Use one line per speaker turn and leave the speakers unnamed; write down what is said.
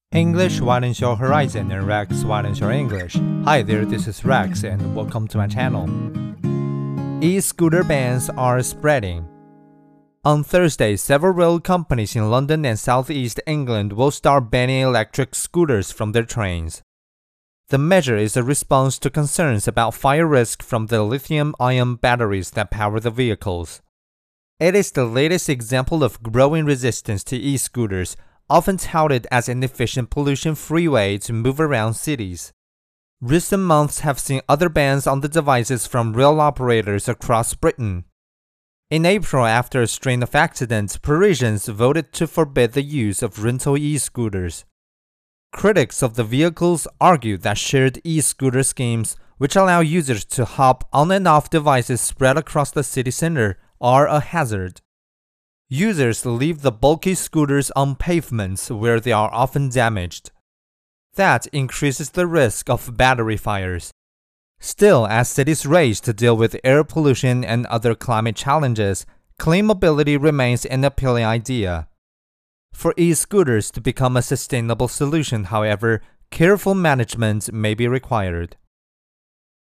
English widens your horizon and Rex widens your English. Hi there, this is Rex and welcome to my channel. E-scooter bans are spreading. On Thursday, several rail companies in London and southeast England will start banning electric scooters from their trains. The measure is a response to concerns about fire risk from the lithium-ion batteries that power the vehicles. It is the latest example of growing resistance to e-scooters, often touted as an efficient pollution-free way to move around cities. Recent months have seen other bans on the devices from rail operators across Britain. In April, after a string of accidents, Parisians voted to forbid the use of rental e-scooters. Critics of the vehicles argue that shared e-scooter schemes, which allow users to hop on and off devices spread across the city center, are a hazard. Users leave the bulky scooters on pavements where they are often damaged. That increases the risk of battery fires. Still, as cities race to deal with air pollution and other climate challenges, clean mobility remains an appealing idea. For e-scooters to become a sustainable solution, however, careful management may be required.